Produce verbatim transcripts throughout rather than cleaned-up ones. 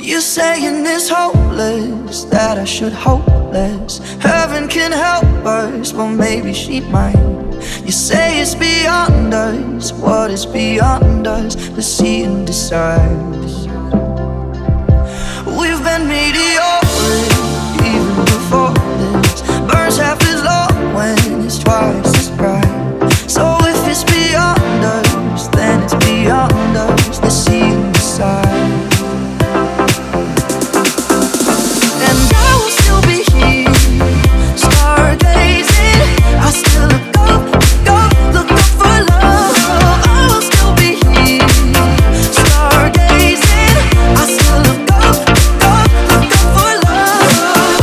You're saying it's hopeless, that I should hope less. Heaven can help us, well maybe she might. You say it's beyond us, what is beyond us? Let's see and decide. We've been mediocre even before this. Burns half as long when it's twice as bright. So if it's beyond us, then it's beyond us. Let's see and decide. And I will still be here, stargazing. I still look up, go, look up for love. I will still be here, stargazing. I still look up, go, look up for love.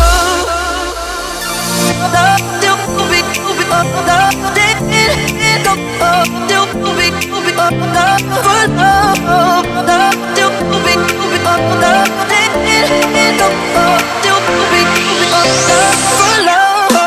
Love still be, be up, love did it, go up, still be, be up, love for love. Love still be, be up, love did it, go up, still be, be up, love for love.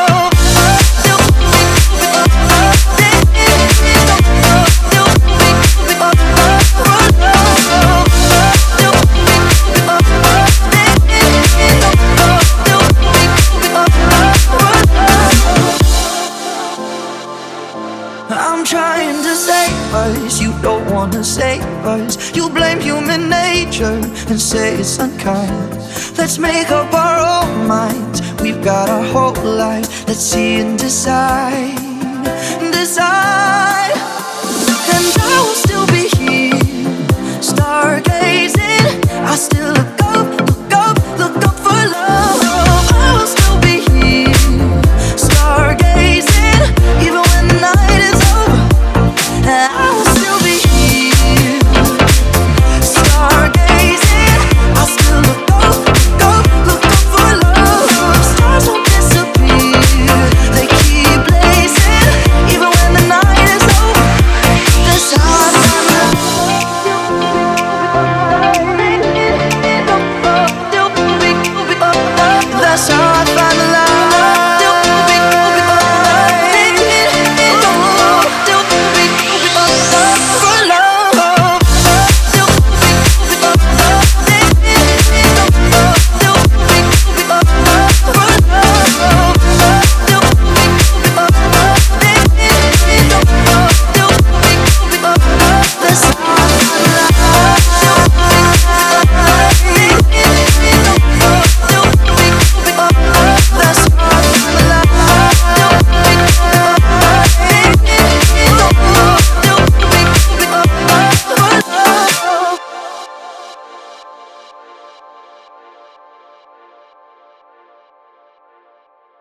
I'm trying to save us, you don't wanna save us. You blame human nature and say it's unkind. Let's make up our own minds, we've got our whole life. Let's see and decide.